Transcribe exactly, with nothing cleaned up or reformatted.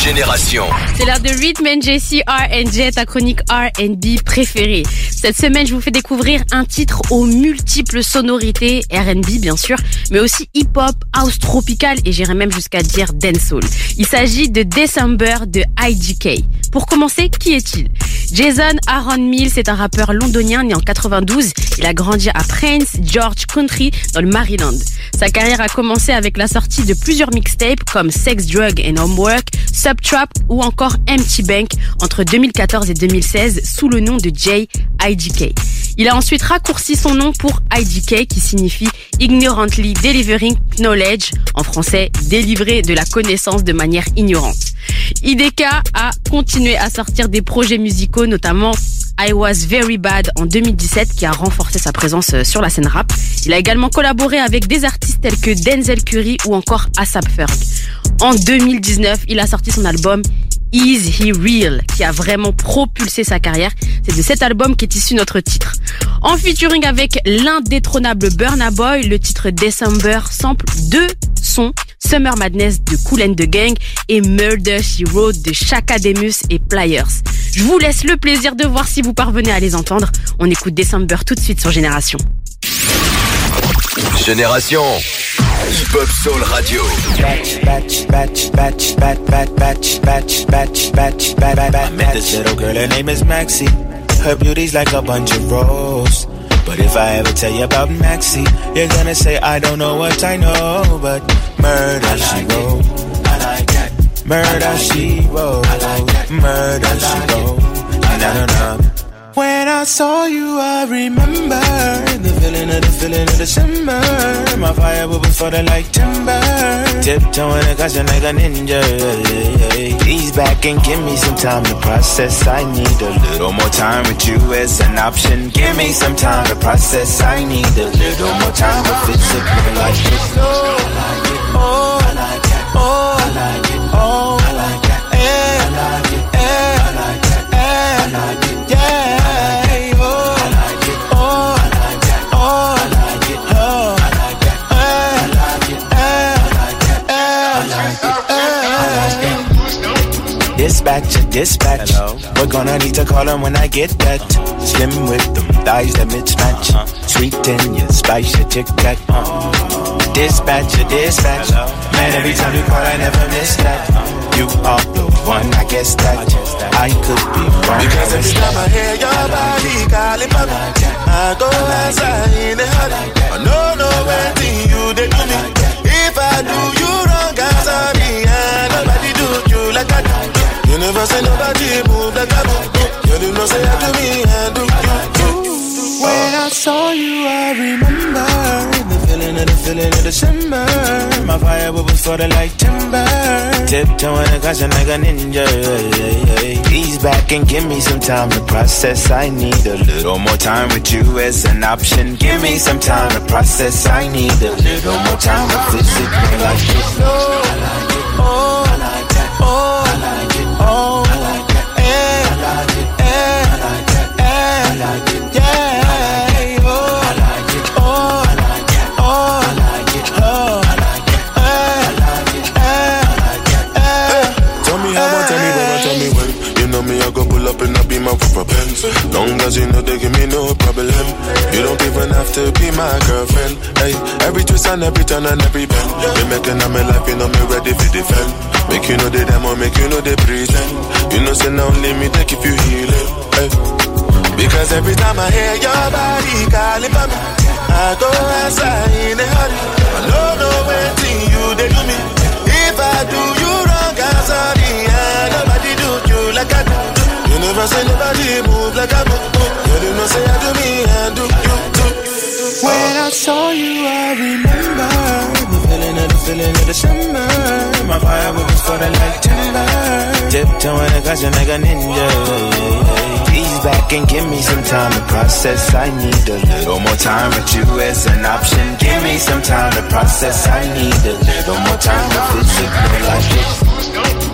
Génération. C'est l'heure de Rhythm and J C R and J, ta chronique R and B préférée. Cette semaine, je vous fais découvrir un titre aux multiples sonorités, R and B bien sûr, mais aussi hip-hop, house tropical et j'irais même jusqu'à dire dancehall. Il s'agit de December de I D K. Pour commencer, qui est-il ? Jason Aaron Mills est un rappeur londonien né en quatre-vingt-douze. Il a grandi à Prince George Country dans le Maryland. Sa carrière a commencé avec la sortie de plusieurs mixtapes comme Sex, Drug and Homework, Subtrap ou encore Empty Bank entre deux mille quatorze et deux mille seize sous le nom de J I D K. Il a ensuite raccourci son nom pour I D K qui signifie Ignorantly Delivering Knowledge, en français délivrer de la connaissance de manière ignorante. I D K a continué à sortir des projets musicaux, notamment I Was Very Bad en deux mille dix-sept qui a renforcé sa présence sur la scène rap. Il a également collaboré avec des artistes tels que Denzel Curry ou encore A$ap Ferg. En deux mille dix-neuf, il a sorti son album Is He Real qui a vraiment propulsé sa carrière. C'est de cet album qu'est issu notre titre. En featuring avec l'indétrônable Burna Boy, le titre December sample deux sons, Summer Madness de Kool and the Gang et Murder She Wrote de Chaka Demus et Pliers. Je vous laisse le plaisir de voir si vous parvenez à les entendre. On écoute December tout de suite sur Génération. Génération Hip-Hop Soul Radio. Batch, batch, batch, batch, batch, batch, batch, batch, batch, batch, batch. I met this little girl, her name is Maxie. Her beauty's like a bunch of roses. But if I ever tell you about Maxie, you're gonna say I don't know what I know. But murder she wrote, I like that. Murder she wrote, I like that. Murder she wrote, na na na. When I saw you, I remember the feeling of the feeling of December. My fire will be for the like timber. Tiptoeing and caution like a ninja. Ease back and give me some time to process. I need a little more time with you as an option. Give me some time to process. I need a little more time to physically like it. Oh, I like it. Oh, I like it. Oh, I like it. Oh, I like it. I like it. I like it. I like it. Yeah. Dispatcher, dispatch. Hello. We're gonna need to call him when I get that. Slim with them thighs that mismatch. Uh-huh. Sweet in your spice, your tic tac. Uh-huh. Dispatcher, dispatch. Hello. Man, every time you call, I never miss that. Uh-huh. You are the one, I guess that. I, guess that. I could be wrong. Because every time I hear your body calling for me, I go outside in a hurry. I know no anything you did to me. If I do you wrong, I'm sorry. Nobody do you like I do. You never say nobody move like I do. You do not say that to me, I do you, you. When I saw you, I remember the feeling of the feeling of December. My fire was for the light timber. Tiptoeing and caution like a ninja. Ease back and give me some time to process. I need a little more time with you as an option. Give me some time to process. I need a little more time to physically like it. Oh, I like it. Oh, I like that. Oh, I like it. Oh, I like that. Eh, I like it. Eh, I like that. Eh, I like it. Yeah. Oh, I like it. Oh, I like it. Oh, I like it. Oh, I like it. Eh, I like it. Eh, I like it. Eh. Tell me how, I tell me where, I tell me when. You know me, I go pull up and I be my proper pens. Long as you know they give me no problem. You don't even have to be my girlfriend. Hey, every twist and every turn and every bend. They making up my life, you know me ready for defend. Make you know they demo, make you know they pretend. You know say now only me take if you heal it. Hey. Because every time I hear your body calling for me, I go outside in a hurry. I don't know anything you did to me. If I do you wrong, I'm sorry. And nobody do you like I do. You never say nobody move like I move. You do not say I do me, I do you too. When I saw you, I remember the feeling of the feeling of December. My fire was for the light timber. Tiptoeing and caution like a ninja. Ease back and give me some time to process. I need a little more time with you as an option. Give me some time to process. I need a little more time to physically like it.